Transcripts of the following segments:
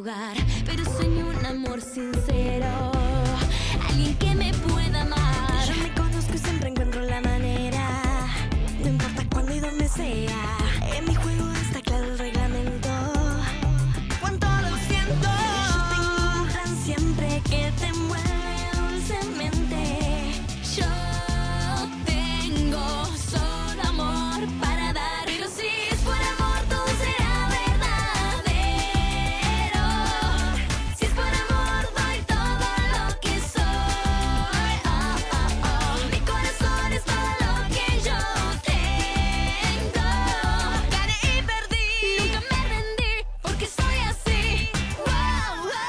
lugar, pero sueño un amor sincero, alguien que me pueda amar. Yo me conozco y siempre encuentro la manera, no importa cuándo y dónde sea. En mi juego está claro el reglamento, cuánto lo siento. Yo tengo un plan siempre que te mueve dulcemente. Yo tengo solo amor para dar, pero si es por amor todo será verdadero. Si es por amor doy todo lo que soy. Oh, oh, oh. Mi corazón es todo lo que yo tengo. Gané y perdí, nunca me rendí, porque soy así. Wow, wow.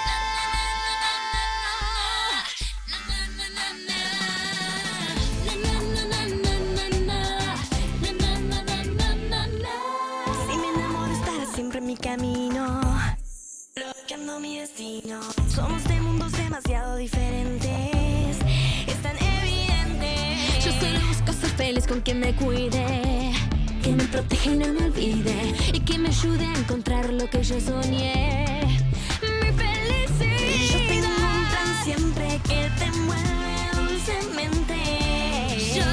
Si me enamoro estará siempre en mi camino, bloqueando mi destino. Somos de mundos demasiado diferentes, es tan evidente. Yo solo busco ser feliz con quien me cuide, que me proteja y no me olvide, y que me ayude a encontrar lo que yo soñé. Mi felicidad. Yo tengo un plan siempre que te mueve dulcemente. Yo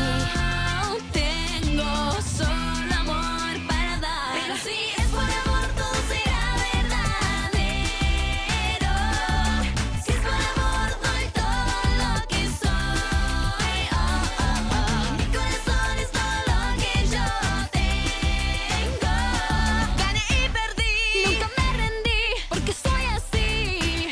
tengo solo amor para dar, pero si es por amor todo será verdadero. Si es por amor doy todo lo que soy. Oh, oh, oh. Mi corazón es todo lo que yo tengo. Gané y perdí, nunca me rendí, porque soy así.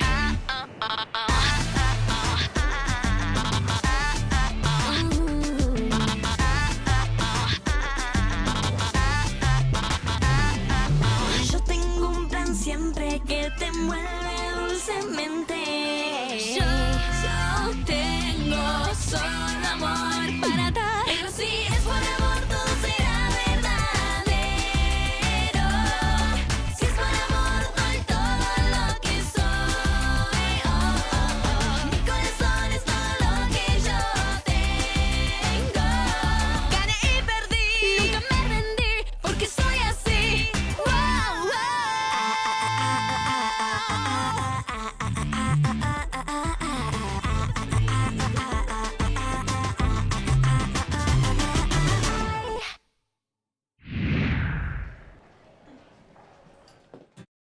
Yo tengo un plan siempre que te mueve dulcemente. Yo tengo solo amor para dar, pero si es por amor